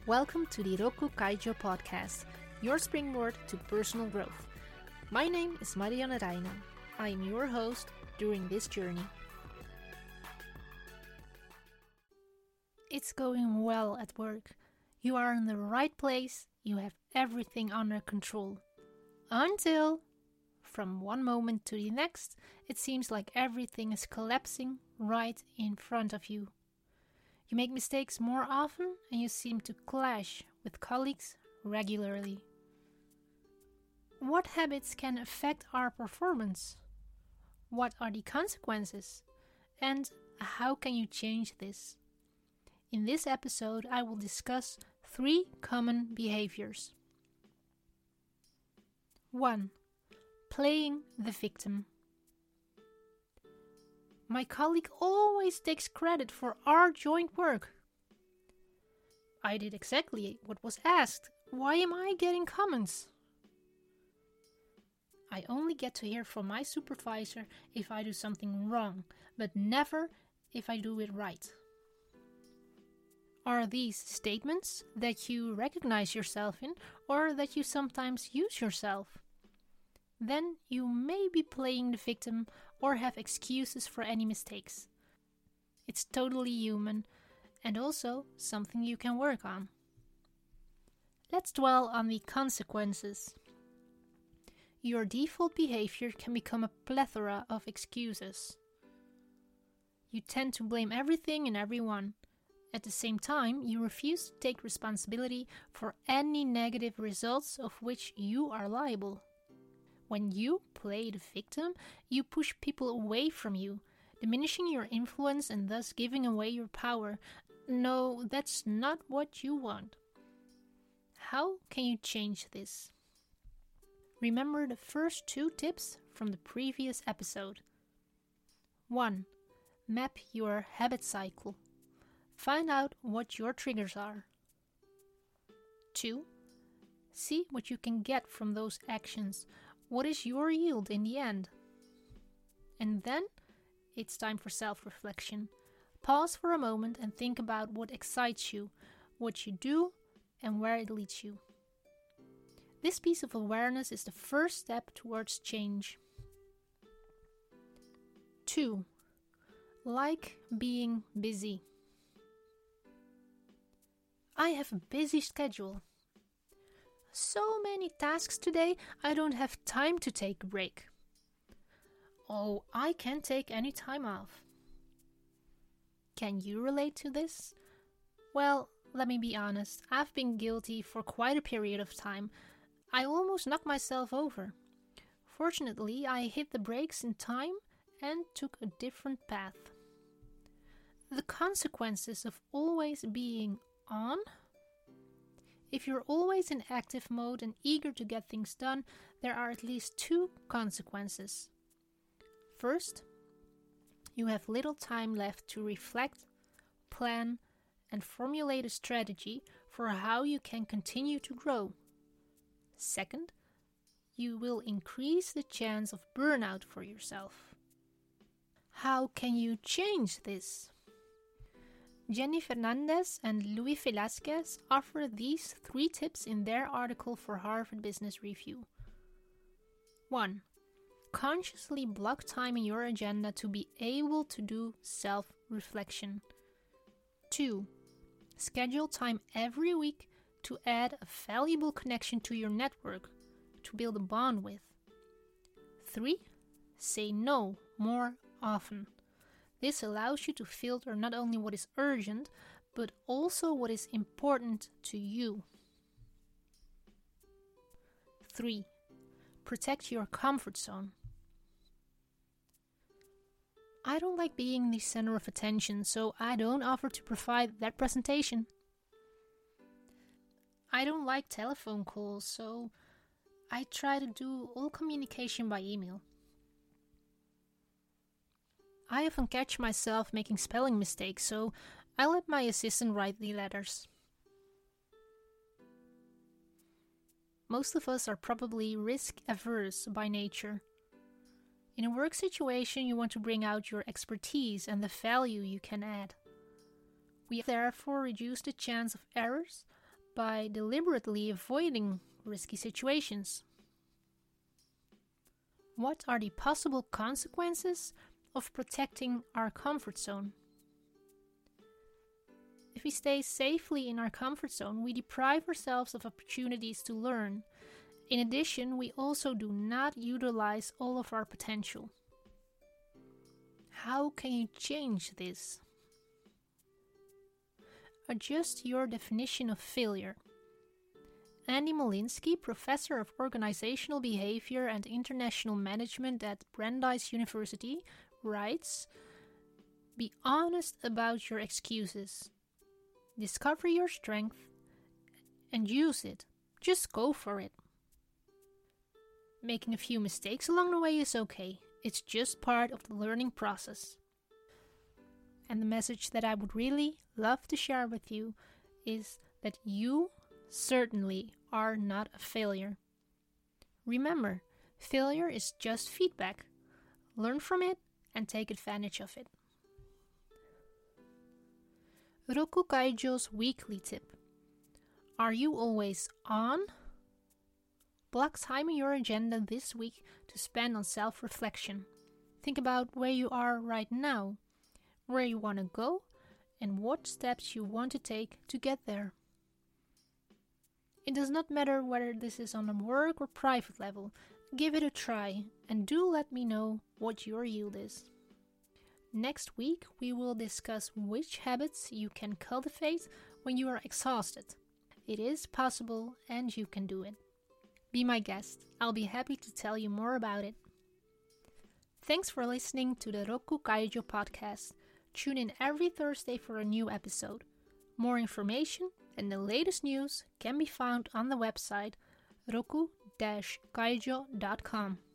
Welcome to the Roku Kaijo podcast, your springboard to personal growth. My name is Marianne Reijnen. I am your host during this journey. It's going well at work. You are in the right place. You have everything under control. Until, from one moment to the next, it seems like everything is collapsing right in front of you. You make mistakes more often and you seem to clash with colleagues regularly. What habits can affect our performance? What are the consequences? And how can you change this? In this episode, I will discuss 3 common behaviors. 1. Playing the victim. My colleague always takes credit for our joint work. I did exactly what was asked. Why am I getting comments? I only get to hear from my supervisor if I do something wrong, but never if I do it right. Are these statements that you recognize yourself in or that you sometimes use yourself? Then you may be playing the victim or have excuses for any mistakes. It's totally human and also something you can work on. Let's dwell on the consequences. Your default behavior can become a plethora of excuses. You tend to blame everything and everyone. At the same time, you refuse to take responsibility for any negative results of which you are liable. When you play the victim, you push people away from you, diminishing your influence and thus giving away your power. No, that's not what you want. How can you change this? Remember the first 2 tips from the previous episode. 1. Map your habit cycle. Find out what your triggers are. 2. See what you can get from those actions. What is your yield in the end? And then it's time for self-reflection. Pause for a moment and think about what excites you, what you do, and where it leads you. This piece of awareness is the first step towards change. 2. Like being busy. I have a busy schedule. So many tasks today, I don't have time to take a break. Oh, I can't take any time off. Can you relate to this? Well, let me be honest, I've been guilty for quite a period of time. I almost knocked myself over. Fortunately, I hit the brakes in time and took a different path. The consequences of always being on. If you're always in active mode and eager to get things done, there are at least 2 consequences. First, you have little time left to reflect, plan, and formulate a strategy for how you can continue to grow. Second, you will increase the chance of burnout for yourself. How can you change this? Jenny Fernandez and Louis Velasquez offer these 3 tips in their article for Harvard Business Review. 1. Consciously block time in your agenda to be able to do self-reflection. 2. Schedule time every week to add a valuable connection to your network, to build a bond with. 3. Say no more often. This allows you to filter not only what is urgent, but also what is important to you. 3. Protect your comfort zone. I don't like being the center of attention, so I don't offer to provide that presentation. I don't like telephone calls, so I try to do all communication by email. I often catch myself making spelling mistakes, so I let my assistant write the letters. Most of us are probably risk-averse by nature. In a work situation, you want to bring out your expertise and the value you can add. We therefore reduce the chance of errors by deliberately avoiding risky situations. What are the possible consequences of protecting our comfort zone? If we stay safely in our comfort zone, we deprive ourselves of opportunities to learn. In addition, we also do not utilize all of our potential. How can you change this? Adjust your definition of failure. Andy Molinsky, professor of organizational behavior and international management at Brandeis University, writes, "Be honest about your excuses. Discover your strength and use it. Just go for it. Making a few mistakes along the way is okay. It's just part of the learning process." And the message that I would really love to share with you is that you certainly are not a failure. Remember, failure is just feedback. Learn from it and take advantage of it. Roku Kaijo's weekly tip. Are you always on? Block time in your agenda this week to spend on self-reflection. Think about where you are right now, where you want to go, and what steps you want to take to get there. It does not matter whether this is on a work or private level. Give it a try and do let me know what your yield is. Next week, we will discuss which habits you can cultivate when you are exhausted. It is possible and you can do it. Be my guest. I'll be happy to tell you more about it. Thanks for listening to the Roku Kaijo podcast. Tune in every Thursday for a new episode. More information and the latest news can be found on the website roku-kaijo.com.